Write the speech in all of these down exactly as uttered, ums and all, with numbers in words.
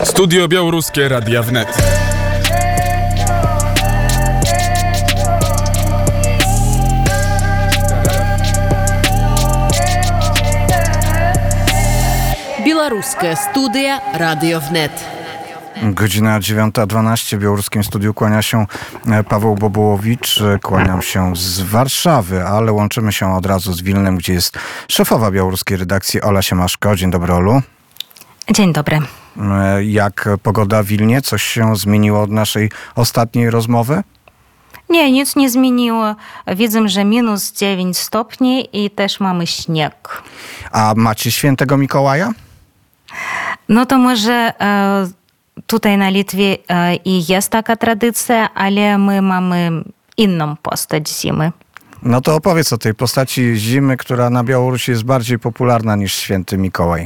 Studio Białoruskie Radia Wnet. Białoruskie Studio Radio Wnet. Godzina dziewiąta dwanaście. W białoruskim studiu kłania się Paweł Bobołowicz. Kłaniam się z Warszawy, ale łączymy się od razu z Wilnem, gdzie jest szefowa białoruskiej redakcji Ola Siemaszko. Dzień dobry, Olu. Dzień dobry. Jak pogoda w Wilnie? Coś się zmieniło od naszej ostatniej rozmowy? Nie, nic nie zmieniło. Widzę, że minus dziewięć stopni i też mamy śnieg. A macie świętego Mikołaja? No to może e, tutaj na Litwie e, i jest taka tradycja, ale my mamy inną postać zimy. No to opowiedz o tej postaci zimy, która na Białorusi jest bardziej popularna niż święty Mikołaj.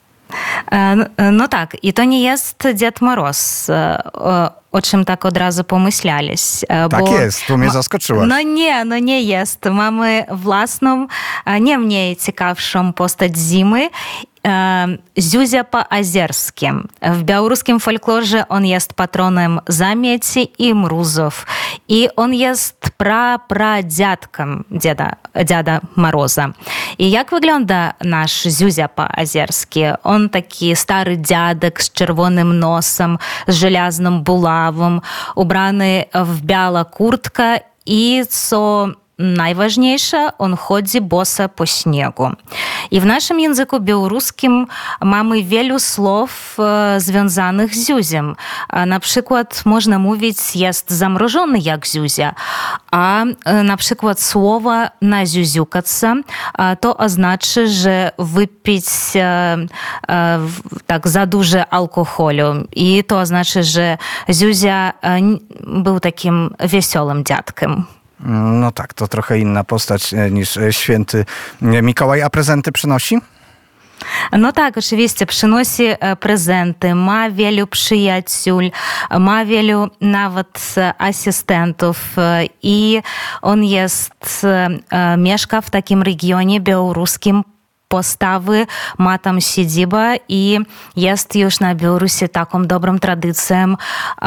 No tak, i to nie jest Dziad Moroz, o, o czym tak od razu pomyślałeś. Tak bo jest, tu mnie zaskoczyłaś. No nie, no nie jest. Mamy własną, nie mniej ciekawszą postać zimy, Zuzia po-azerskie. W białoruskim folklorze on jest patronem zamieci i mrozów. I on jest pra-pradziadkiem dziada, dziada Moroza. I jak wygląda nasz Zuzia po-azerski? On taki stary dziadek z czerwonym nosem, z żelazną buławą, ubrany w białą kurtkę i co najważniejsze, on chodzi boso po śniegu. I w naszym języku białoruskim mamy wielu słów e, związanych z Zuziem. A na przykład można mówić jest zamrożony jak Zuzia, a e, na przykład słowo naziuziukać to oznacza, że wypić e, e, tak za dużo alkoholu. I to oznacza, że Zuzia e, był takim wesołym dziadkiem. No tak, to trochę inna postać niż święty Mikołaj. A prezenty przynosi? No tak, oczywiście, przynosi prezenty, ma wielu przyjaciół, ma wielu nawet asystentów i on jest, mieszka w takim regionie białoruskim postawy, ma tam siedzibę i jest już na Białorusi taką dobrą tradycją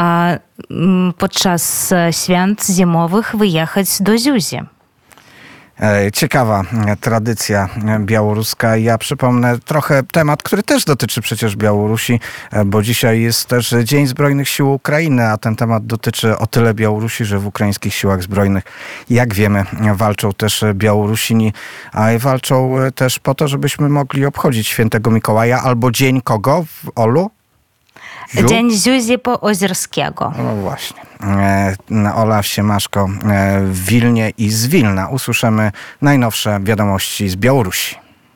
podczas świąt zimowych wyjechać do Zuzi. Ciekawa tradycja białoruska. Ja przypomnę trochę temat, który też dotyczy przecież Białorusi, bo dzisiaj jest też Dzień Zbrojnych Sił Ukrainy, a ten temat dotyczy o tyle Białorusi, że w ukraińskich siłach zbrojnych, jak wiemy, walczą też Białorusini, a walczą też po to, żebyśmy mogli obchodzić świętego Mikołaja albo dzień kogo, Olu? Ziu? Dzień Zuzi po-ozerskiego. No właśnie. Ola Siemaszko w Wilnie i z Wilna. Usłyszymy najnowsze wiadomości z Białorusi.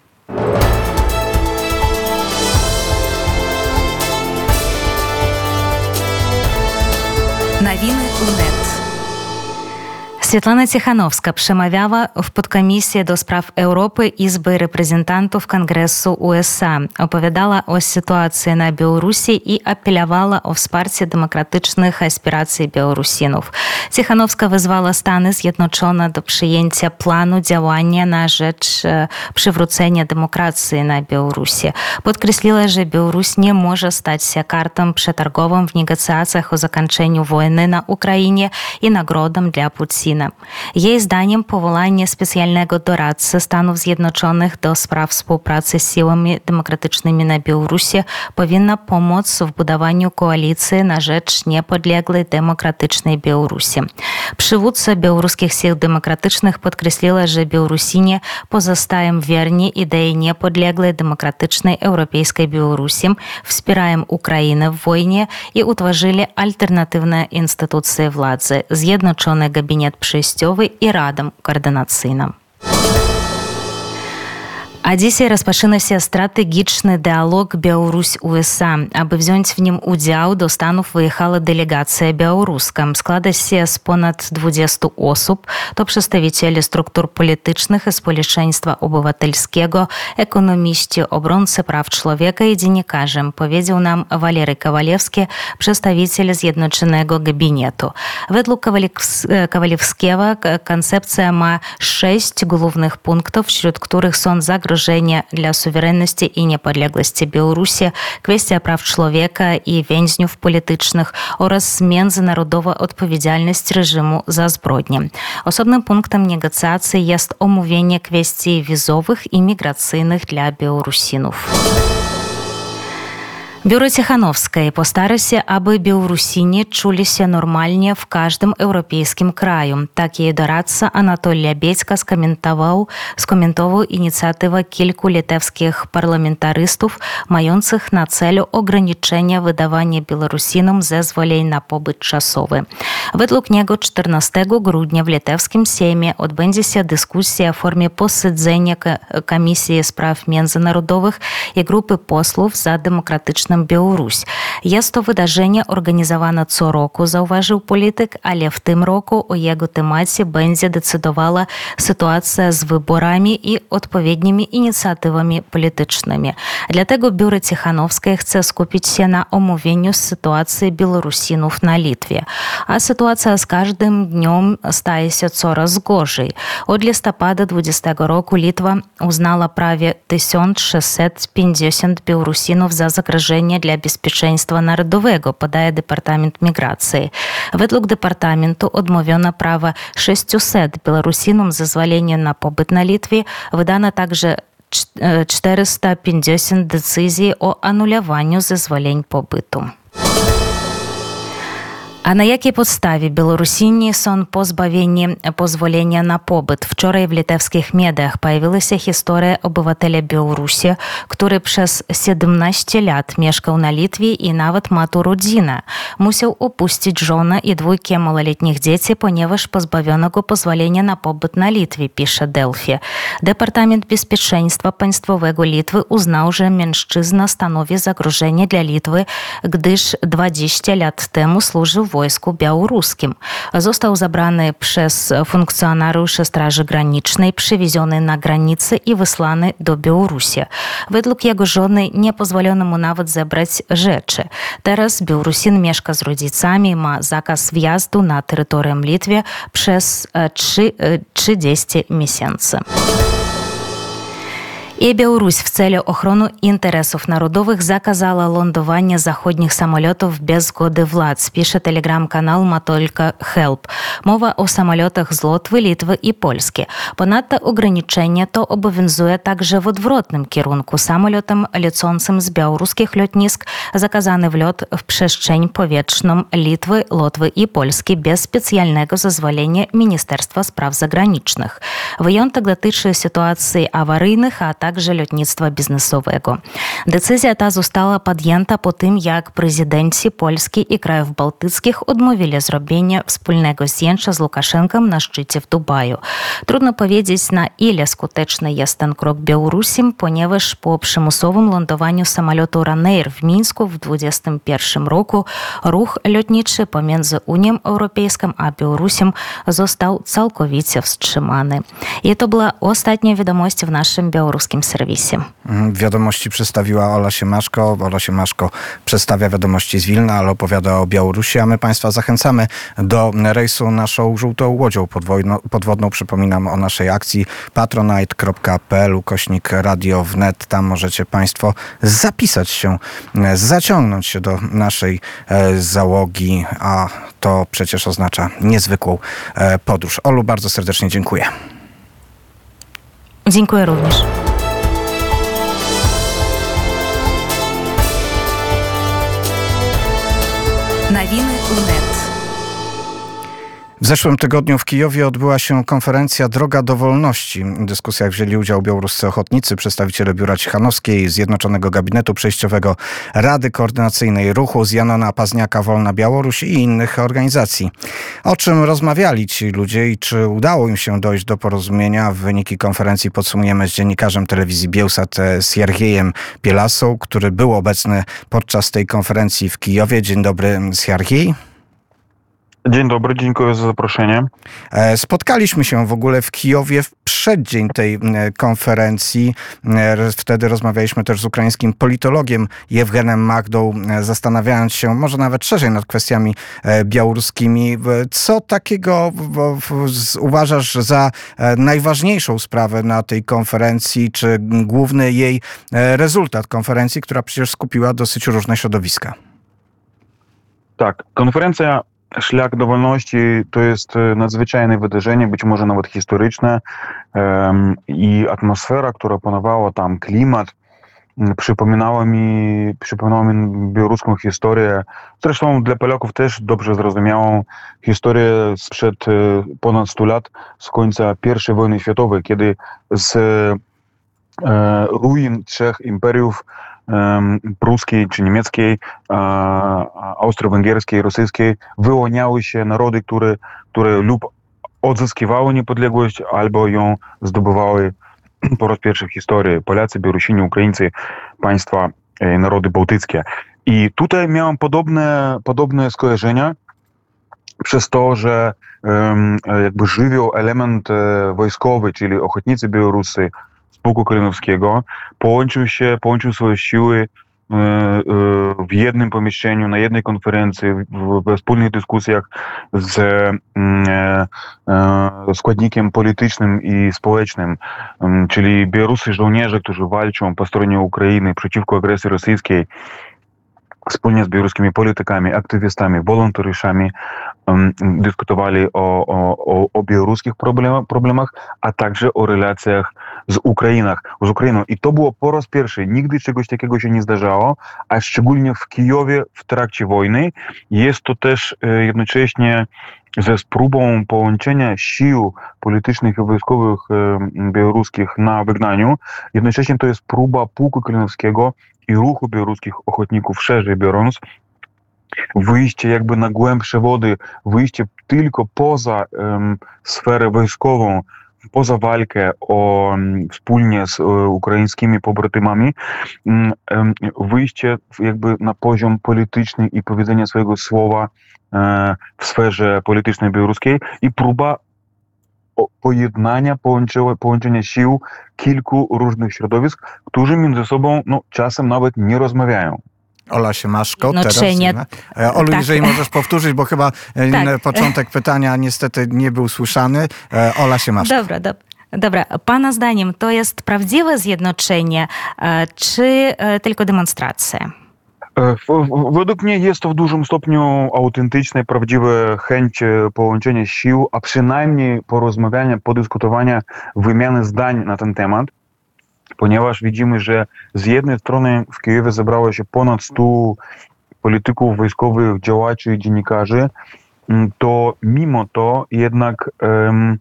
Nowiny Wnet. Світлана Тихановська przemawiała w podkomisji do spraw Europy Izby Reprezentantów Kongresu U S A. Opowiadała o sytuacji na Białorusi i apelowała o wsparcie demokratycznych aspiracji Białorusinów. Tichanowska wezwała Stany Zjednoczone do przyjęcia planu działania na rzecz przywrócenia demokracji na Białorusi. Podkreśliła, że Białoruś nie może stać się kartą przetargową w negocjacjach o zakończeniu wojny na Ukrainie i nagrodą dla Putina. Jej zdaniem powołanie specjalnego doradcy Stanów Zjednoczonych do spraw współpracy z siłami demokratycznymi na Białorusi powinno pomóc w budowaniu koalicji na rzecz niepodległej demokratycznej Białorusi. Przywódca białoruskich sił demokratycznych podkreśliła, że Białorusini pozostają wierni idei niepodległej demokratycznej europejskiej Białorusi, wspierają Ukrainę w wojnie i utworzyli alternatywne instytucje władzy, Zjednoczony Gabinet Przejściowy i Radę Koordynacyjną. A dzisiaj rozpoczyna się strategiczny dialog Białoruś-U S A. Aby wziąć w nim udział, do Stanów wyjechała delegacja białoruska. Składa się z ponad dwudziestu osób. To przedstawiciele struktur politycznych i społeczeństwa obywatelskiego, ekonomiści, obrońcy praw człowieka i dziennikarze, powiedział nam Walery Kowalewski, przedstawiciel Zjednoczonego Gabinetu. Według Kowalewskiego koncepcja ma sześć głównych punktów, wśród których są zagrożenia zagrożenia dla suwerenności i niepodległości Białorusi, kwestia praw człowieka i więźniów politycznych oraz międzynarodowa odpowiedzialność reżimu za zbrodnie. Osobnym punktem negocjacji jest omówienie kwestii wizowych i migracyjnych dla Białorusinów. Biuro Cichanowskiej postara się, aby Białorusini czuli się normalnie w każdym europejskim kraju. Tak jej doradca Anatolij Lebiedźka skomentował, skomentował inicjatywę kilku litewskich parlamentarystów mających na celu ograniczenie wydawania Białorusinom zezwoleń na pobyt czasowy. Według niego czternastego grudnia w litewskim Sejmie odbędzie się dyskusja w formie posiedzenia Komisji Spraw Międzynarodowych i grupy posłów za demokratyczną Białoruś. Jest to wydarzenie organizowane co roku, zauważył polityk, ale w tym roku o jego temacie będzie decydowała sytuacja z wyborami i odpowiednimi inicjatywami politycznymi. Dlatego Biuro Cichanowskie chce skupić się na omówieniu sytuacji Białorusinów na Litwie. A sytuacja z każdym dniem staje się coraz gorzej. Od listopada dwudziestego roku Litwa uznała prawie tysiąc sześćset pięćdziesiąt Białorusinów za zagrożenie dla bezpieczeństwa narodowego, podaje Departament Migracji. Według Departamentu odmówiono prawa sześciuset Białorusinom zezwolenia na pobyt na Litwie. Wydano także czterysta pięćdziesiąt decyzji o anulowaniu zezwoleń pobytu. A na jakiej podstawie Białorusini są pozbawieni pozwolenia na pobyt? Wczoraj w litewskich mediach pojawiła się historia obywatela Białorusi, który przez siedemnaście lat mieszkał na Litwie i nawet ma tu rodzinę. Musiał opuścić żonę i dwójkę małoletnich dzieci, ponieważ pozbawiono go pozwolenia na pobyt na Litwie, pisze Delphi. Departament Bezpieczeństwa Państwowego Litwy uznał, że mężczyzna stanowi zagrożenie dla Litwy, gdyż dwadzieścia lat temu służył w wojsku białoruskim. Został zabrany przez funkcjonariuszy Straży Granicznej, przywieziony na granicę i wysłany do Białorusi. Według jego żony nie pozwolono mu nawet zebrać rzeczy. Teraz Białorusin mieszka z rodzicami, ma zakaz wjazdu na terytorium Litwy przez trzydzieści miesięcy. I Białoruś w celu ochrony interesów narodowych zakazała lądowanie zachodnich samolotów bez zgody władz, pisze telegram-kanał Matolka Help. Mowa o samolotach z Łotwy, Litwy i Polski. Ponadto ograniczenie to obowiązuje także w odwrotnym kierunku. Samolotom lecącym z białoruskich lotnisk zakazany wlot w przestrzeń powietrzną Litwy, Łotwy i Polski bez specjalnego zezwolenia Ministerstwa Spraw Zagranicznych. Wyjątek dotyczy sytuacji awaryjnych, a także lotnictwa biznesowego. Decyzja ta została podjęta po tym, jak prezydenci Polski i krajów bałtyckich odmówili zrobienia wspólnego zdjęcia z Łukaszenką na szczycie w Dubaju. Trudno powiedzieć, na ile skuteczny jest ten krok Białorusi, ponieważ po przymusowym lądowaniu samolotu Ryanair w Mińsku w dwudziestym pierwszym roku ruch lotniczy pomiędzy Unią Europejską a Białorusią został całkowicie wstrzymany. I to była ostatnia wiadomość w naszym białoruskim serwisie. Wiadomości przedstawiła Ola Siemaszko. Ola Siemaszko przedstawia wiadomości z Wilna, ale opowiada o Białorusi, a my Państwa zachęcamy do rejsu naszą żółtą łodzią podwodną. podwodną. Przypominam o naszej akcji patronite kropka p l ukośnik radio wnet. Tam możecie Państwo zapisać się, zaciągnąć się do naszej załogi, a to przecież oznacza niezwykłą podróż. Olu, bardzo serdecznie dziękuję. Dziękuję również. Nowiny UNET. W zeszłym tygodniu w Kijowie odbyła się konferencja Droga do Wolności. W dyskusjach wzięli udział białoruscy ochotnicy, przedstawiciele Biura Cichanowskiej, Zjednoczonego Gabinetu Przejściowego, Rady Koordynacyjnej Ruchu, z Janona Pazniaka Wolna Białoruś i innych organizacji. O czym rozmawiali ci ludzie i czy udało im się dojść do porozumienia? Wyniki konferencji podsumujemy z dziennikarzem telewizji Bielsat Siergiejem Pielasą, który był obecny podczas tej konferencji w Kijowie. Dzień dobry, Siergiej. Dzień dobry, dziękuję za zaproszenie. E, Spotkaliśmy się w ogóle w Kijowie w przeddzień tej e, konferencji. E, Wtedy rozmawialiśmy też z ukraińskim politologiem Jewgenem Magdą, e, zastanawiając się może nawet szerzej nad kwestiami e, białoruskimi. E, Co takiego w- w- z- uważasz za e, najważniejszą sprawę na tej konferencji, czy główny jej e, rezultat konferencji, która przecież skupiła dosyć różne środowiska? Tak, konferencja Szlak do Wolności to jest e, nadzwyczajne wydarzenie, być może nawet historyczne, em, i atmosfera, która panowała tam, klimat, m, przypominała mi, przypominała mi białoruską historię, zresztą dla Polaków też dobrze zrozumiałą historię sprzed e, ponad stu lat, z końca pierwszej wojny światowej, kiedy z e, ruin trzech imperiów, em, pruskiej czy niemieckiej, e, austro-węgierskiej, rosyjskiej, wyłaniały się narody, które, które lub odzyskiwały niepodległość, albo ją zdobywały po raz pierwszy w historii. Polacy, Białorusini, Ukraińcy, państwa, e, narody bałtyckie. I tutaj miałem podobne, podobne skojarzenia przez to, że em, jakby żywioł element e, wojskowy, czyli ochotnicy białoruscy z Pułku Kalinowskiego, połączył się, połączył swoje siły e, e, w jednym pomieszczeniu, na jednej konferencji, w, we wspólnych dyskusjach z mm, e, e, składnikiem politycznym i społecznym, em, czyli białoruscy żołnierze, którzy walczą po stronie Ukrainy przeciwko agresji rosyjskiej, wspólnie z białoruskimi politykami, aktywistami, wolontariuszami um, dyskutowali o, o, o, o białoruskich problemach, problemach, a także o relacjach z, Ukrainach, z Ukrainą. I to było po raz pierwszy. Nigdy czegoś takiego się nie zdarzało, a szczególnie w Kijowie w trakcie wojny. Jest to też e, jednocześnie ze spróbą połączenia sił politycznych i wojskowych e, białoruskich na wygnaniu. Jednocześnie to jest próba Pułku Kalinowskiego i ruchu białoruskich ochotników, szerzej biorąc, wyjście jakby na głębsze wody, wyjście tylko poza um, sferę wojskową, poza walkę o, um, wspólnie z um, ukraińskimi pobratymami, um, wyjście jakby na poziom polityczny i powiedzenia swojego słowa um, w sferze politycznej białoruskiej i próba pojednania, połączenia sił kilku różnych środowisk, którzy między sobą no, czasem nawet nie rozmawiają. Ola Siemaszko, teraz. Jednoczenie. E, Olu, Tak. jeżeli możesz powtórzyć, bo chyba e, Tak. początek pytania niestety nie był słyszany. E, Ola Siemaszko. Dobra, dobra. Dobra, pana zdaniem to jest prawdziwe zjednoczenie, e, czy e, tylko demonstracja? E, w- w- Według mnie jest to w dużym stopniu autentyczne, prawdziwe chęć e, połączenia sił, a przynajmniej porozmawiania, podyskutowania, wymiany zdań na ten temat, ponieważ widzimy, że z jednej strony w Kijowie zebrało się ponad stu polityków wojskowych, działaczy i dziennikarzy, m, to mimo to jednak em,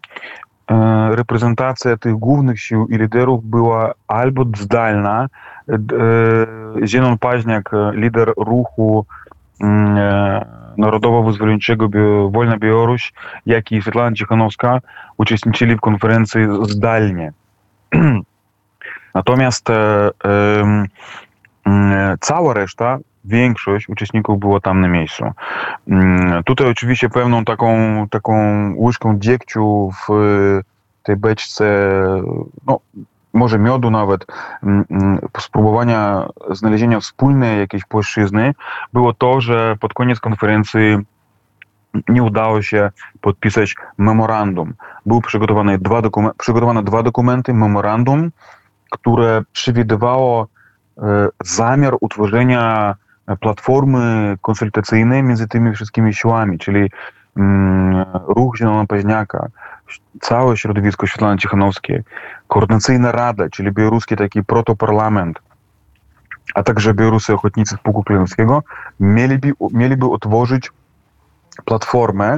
e, reprezentacja tych głównych sił i liderów była albo zdalna. E, Zenon Paźniak, e, lider ruchu mm, e, Narodowo-Wyzwoleńczego Bio- Wolna Białoruś, jak i Svetlana Cichanowska uczestniczyli w konferencji zdalnie. Natomiast e, em, mm, cała reszta, większość uczestników było tam na miejscu. Mm, Tutaj oczywiście pewną taką, taką łyżką dziegciu w tej beczce, no może miodu nawet, mm, mm, spróbowania znalezienia wspólnej jakiejś płaszczyzny, było to, że pod koniec konferencji nie udało się podpisać memorandum. Były przygotowane dwa, dokumen- przygotowane dwa dokumenty, memorandum, które przewidywało e, zamiar utworzenia platformy konsultacyjnej między tymi wszystkimi siłami, czyli mm, ruch Zielona Paźniaka, całe środowisko Svetlany Cichanowskiej, koordynacyjna rada, czyli białoruski taki protoparlament, a także białoruscy ochotnicy z Pułku Kalinowskiego, mieliby, mieliby utworzyć platformę,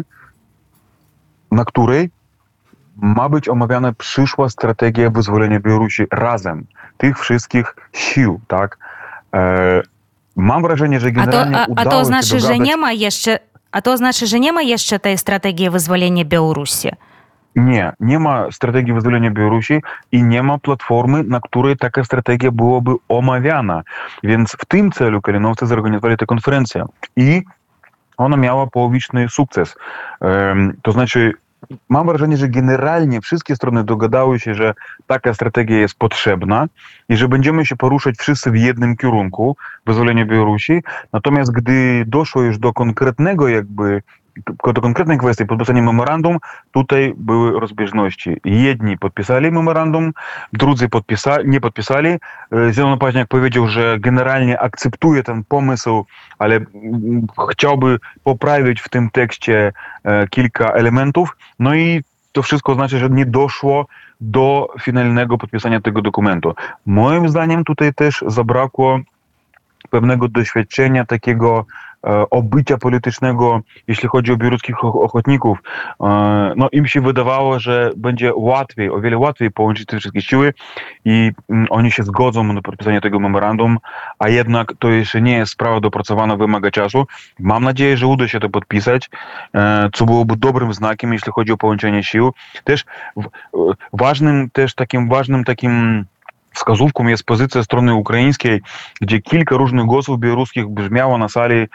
na której ma być omawiana przyszła strategia wyzwolenia Białorusi razem, tych wszystkich sił, tak? E, mam wrażenie, że A to, generalnie a, a udało to się znaczy, że dogadać... nie ma jeszcze, a to znaczy, że nie ma jeszcze tej strategii wyzwolenia Białorusi. Nie, nie ma strategii wyzwolenia Białorusi i nie ma platformy, na której taka strategia byłaby omawiana. Więc w tym celu kalinowcy zorganizowali tę konferencję. I ona miała połowiczny sukces. To znaczy, mam wrażenie, że generalnie wszystkie strony dogadały się, że taka strategia jest potrzebna i że będziemy się poruszać wszyscy w jednym kierunku, wyzwolenia Białorusi. Natomiast gdy doszło już do konkretnego jakby do konkretnej kwestii podpisania memorandum, tutaj były rozbieżności. Jedni podpisali memorandum, drudzy podpisali, nie podpisali. Zielony Paźniak powiedział, że generalnie akceptuje ten pomysł, ale chciałby poprawić w tym tekście kilka elementów. No i to wszystko znaczy, że nie doszło do finalnego podpisania tego dokumentu. Moim zdaniem tutaj też zabrakło pewnego doświadczenia takiego obycia politycznego, jeśli chodzi o białoruskich ochotników. No im się wydawało, że będzie łatwiej, o wiele łatwiej połączyć te wszystkie siły i oni się zgodzą na podpisanie tego memorandum, a jednak to jeszcze nie jest sprawa dopracowana, wymaga czasu. Mam nadzieję, że uda się to podpisać, co byłoby dobrym znakiem, jeśli chodzi o połączenie sił. Też ważnym, też takim ważnym takim wskazówką jest pozycja strony ukraińskiej, gdzie kilka różnych głosów białoruskich brzmiało na sali,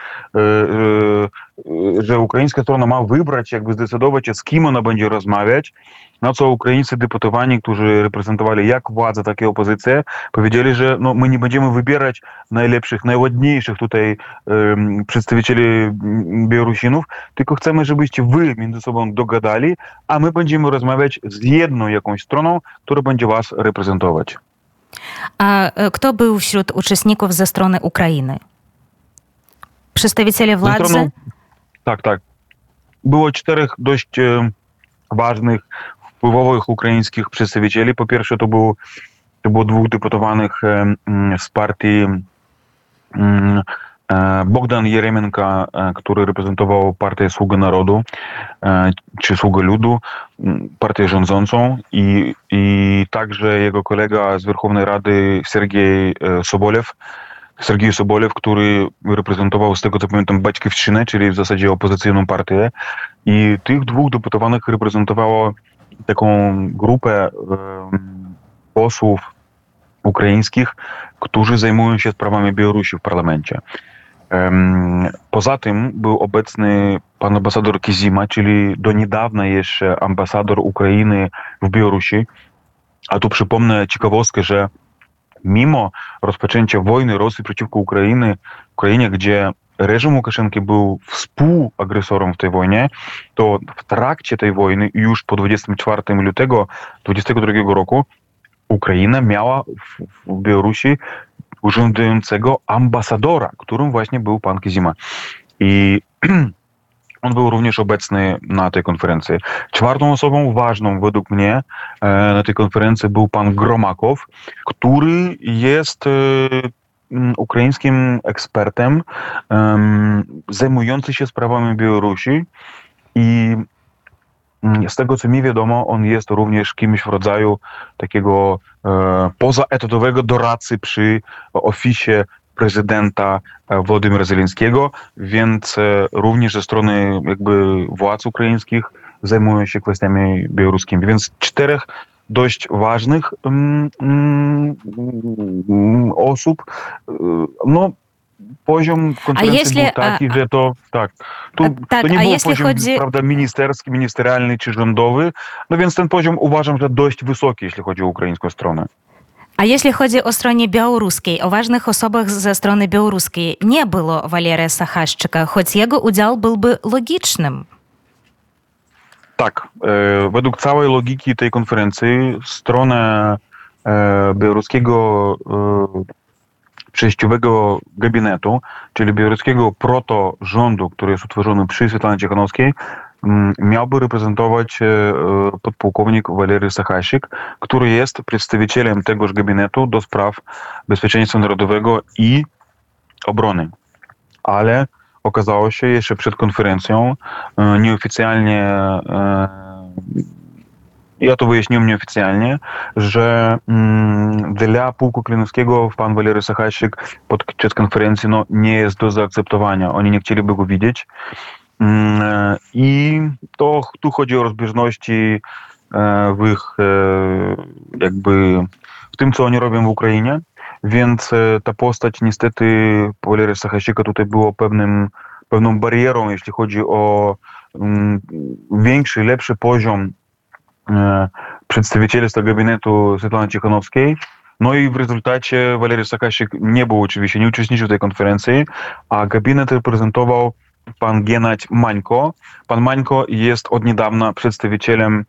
że ukraińska strona ma wybrać, jakby zdecydować się, z kim ona będzie rozmawiać, na co ukraińscy deputowani, którzy reprezentowali jak władzę, tak i opozycję, powiedzieli, że no, my nie będziemy wybierać najlepszych, najładniejszych tutaj um, przedstawicieli Białorusinów, tylko chcemy, żebyście wy między sobą dogadali, a my będziemy rozmawiać z jedną jakąś stroną, która będzie was reprezentować. A kto był wśród uczestników ze strony Ukrainy? Przedstawiciele władzy? Stroną, tak, tak. Było czterech dość e, ważnych, wpływowych ukraińskich przedstawicieli. Po pierwsze to, był, to było dwóch deputowanych e, z partii e, Bogdan Jeremenko, który reprezentował partię Sługa Narodu, czy Sługa Ludu, partię rządzącą i, i także jego kolega z Werchownej Rady Sergiej Sobolew, Sergiej Sobolew, który reprezentował, z tego co pamiętam, Baćkiewszczynę, czyli w zasadzie opozycyjną partię. I tych dwóch deputowanych reprezentowało taką grupę posłów ukraińskich, którzy zajmują się sprawami Białorusi w parlamencie. Poza tym był obecny pan ambasador Kizima, czyli do niedawna jeszcze ambasador Ukrainy w Białorusi. A tu przypomnę ciekawostkę, że mimo rozpoczęcia wojny Rosji przeciwko Ukrainy, Ukrainie, gdzie reżim Łukaszenki był współagresorem w tej wojnie, to w trakcie tej wojny już po dwudziestego czwartego lutego dwudziestego drugiego roku Ukraina miała w, w Białorusi urzędującego ambasadora, którym właśnie był pan Kizima. I on był również obecny na tej konferencji. Czwartą osobą ważną według mnie na tej konferencji był pan Gromakow, który jest ukraińskim ekspertem zajmującym się sprawami Białorusi i z tego, co mi wiadomo, on jest również kimś w rodzaju takiego e, pozaetatowego doradcy przy ofisie prezydenta Władimira Zelenskiego, więc e, również ze strony jakby władz ukraińskich zajmują się kwestiami białoruskimi. Więc czterech dość ważnych mm, mm, osób, no poziom konferencji jeśli, był taki, a, że to tak, tu, tak, to nie a był jeśli poziom chodzi... prawda, ministerski, ministerialny czy rządowy, no więc ten poziom uważam, że dość wysoki, jeśli chodzi o ukraińską stronę. A jeśli chodzi o stronę białoruskiej, o ważnych osobach ze strony białoruskiej nie było Waleria Sachaszczyka, choć jego udział byłby logicznym. Tak, e, według całej logiki tej konferencji stronę e, białoruskiego e, przejściowego gabinetu, czyli białoruskiego proto-rządu, który jest utworzony przy Swiatłanie Cichanowskiej, miałby reprezentować podpułkownik Walery Sachasik, który jest przedstawicielem tegoż gabinetu do spraw bezpieczeństwa narodowego i obrony. Ale okazało się jeszcze przed konferencją nieoficjalnie, ja to wyjaśniłem nieoficjalnie, że mm, dla pułku Klinowskiego pan Walery Sachasik podczas konferencji no, nie jest do zaakceptowania. Oni nie chcieliby go widzieć. Mm, I to tu chodzi o rozbieżności e, w ich e, jakby w tym, co oni robią w Ukrainie. Więc e, ta postać niestety Walery Sachasika tutaj było pewnym pewną barierą, jeśli chodzi o um, większy, lepszy poziom e, przedstawicielstwa gabinetu Swiatłany Cichanowskiej. No i w rezultacie Walery Sakasik nie był oczywiście, nie uczestniczył w tej konferencji, a gabinet reprezentował pan Gennadź Mańko. Pan Mańko jest od niedawna przedstawicielem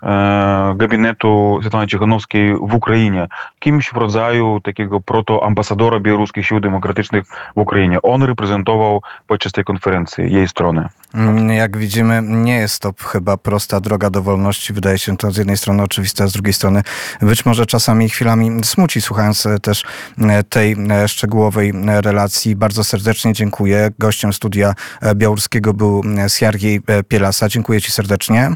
e, gabinetu Swiatłany Cichanowskiej w Ukrainie. Kimś w rodzaju takiego protoambasadora białoruskich sił demokratycznych w Ukrainie. On reprezentował podczas tej konferencji jej stronę. Jak widzimy, nie jest to chyba prosta droga do wolności. Wydaje się to z jednej strony oczywiste, a z drugiej strony być może czasami chwilami smuci, słuchając też tej szczegółowej relacji. Bardzo serdecznie dziękuję. Gościem studia białoruskiego był Siergiej Pielasa. Dziękuję ci serdecznie.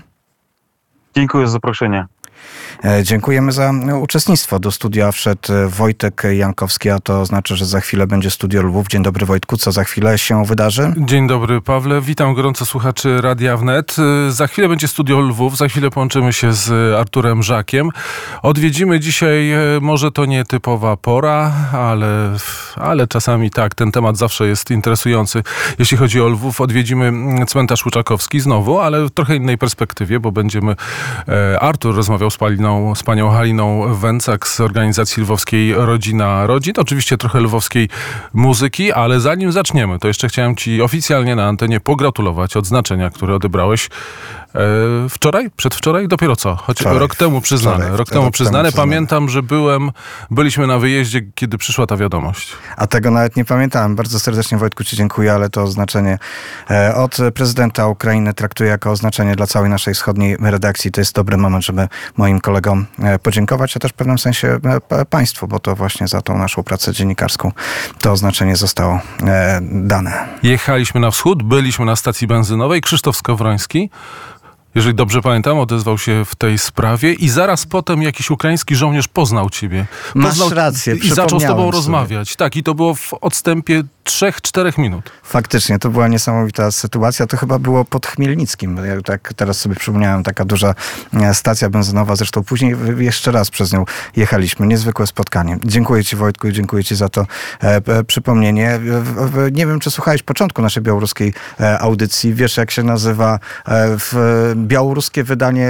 Dziękuję za zaproszenie. Dziękujemy za uczestnictwo. Do studia wszedł Wojtek Jankowski, a to znaczy, że za chwilę będzie Studio Lwów. Dzień dobry, Wojtku. Co za chwilę się wydarzy? Dzień dobry, Pawle. Witam gorąco słuchaczy Radia Wnet. Za chwilę będzie Studio Lwów. Za chwilę połączymy się z Arturem Żakiem. Odwiedzimy dzisiaj, może to nie typowa pora, ale, ale czasami tak, ten temat zawsze jest interesujący. Jeśli chodzi o Lwów, odwiedzimy cmentarz Łuczakowski znowu, ale w trochę innej perspektywie, bo będziemy... Artur rozmawiał z Paliną z panią Haliną Węcak z organizacji lwowskiej Rodzina Rodzin. Oczywiście trochę lwowskiej muzyki, ale zanim zaczniemy, to jeszcze chciałem ci oficjalnie na antenie pogratulować odznaczenia, które odebrałeś e, wczoraj, przedwczoraj, dopiero co? Choć wczoraj, rok temu przyznane. Wczoraj, rok temu rok przyznane. temu Pamiętam, że byłem, byliśmy na wyjeździe, kiedy przyszła ta wiadomość. A tego nawet nie pamiętałem. Bardzo serdecznie, Wojtku, ci dziękuję, ale to oznaczenie e, od prezydenta Ukrainy traktuję jako oznaczenie dla całej naszej wschodniej redakcji. To jest dobry moment, żeby moim kolegom podziękować, a też w pewnym sensie państwu, bo to właśnie za tą naszą pracę dziennikarską to oznaczenie zostało e, dane. Jechaliśmy na wschód, byliśmy na stacji benzynowej. Krzysztof Skowroński, jeżeli dobrze pamiętam, odezwał się w tej sprawie i zaraz potem jakiś ukraiński żołnierz poznał ciebie. Poznał Masz rację, i zaczął z tobą sobie. rozmawiać. Tak, i to było w odstępie trzech, czterech minut. Faktycznie, to była niesamowita sytuacja. To chyba było pod Chmielnickim. Ja tak teraz sobie przypomniałem, taka duża stacja benzynowa. Zresztą później jeszcze raz przez nią jechaliśmy. Niezwykłe spotkanie. Dziękuję ci, Wojtku, i dziękuję ci za to e, przypomnienie. Nie wiem, czy słuchałeś początku naszej białoruskiej e, audycji. Wiesz, jak się nazywa e, w białoruskie wydanie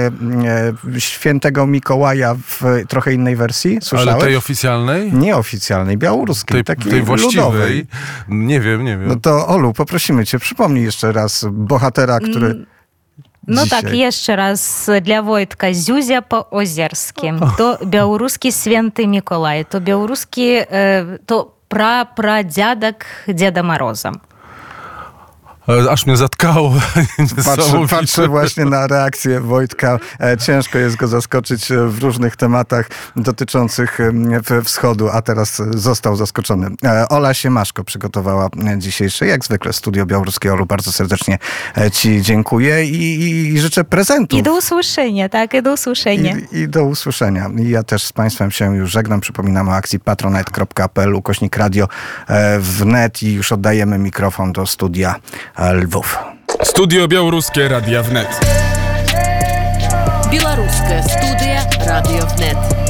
e, Świętego Mikołaja w trochę innej wersji? Słyszałeś? Ale tej oficjalnej? Nieoficjalnej, białoruskiej. Tej, takiej tej właściwej? ludowej. Nie wiem, nie wiem. No to Olu, poprosimy cię, przypomnij jeszcze raz bohatera, który... No dzisiaj... tak, jeszcze raz dla Wojtka. Zuzia po-ozierskim. To białoruski Święty Mikołaj. To białoruski, to pra-pradziadek Dziada Moroza. Aż mnie zatkało. Patrzę, patrzę właśnie na reakcję Wojtka. Ciężko jest go zaskoczyć w różnych tematach dotyczących wschodu, a teraz został zaskoczony. Ola Siemaszko przygotowała dzisiejsze, jak zwykle, Studio Białoruskie. Olu, bardzo serdecznie ci dziękuję i, i życzę prezentów. I do usłyszenia, tak, i do usłyszenia. I, I do usłyszenia. I ja też z państwem się już żegnam. Przypominam o akcji patronite kropka p l ukośnik radio wnet i już oddajemy mikrofon do studia Lwów. Studio Białoruskie Radia Wnet. Белорусская студия «Радио Внет».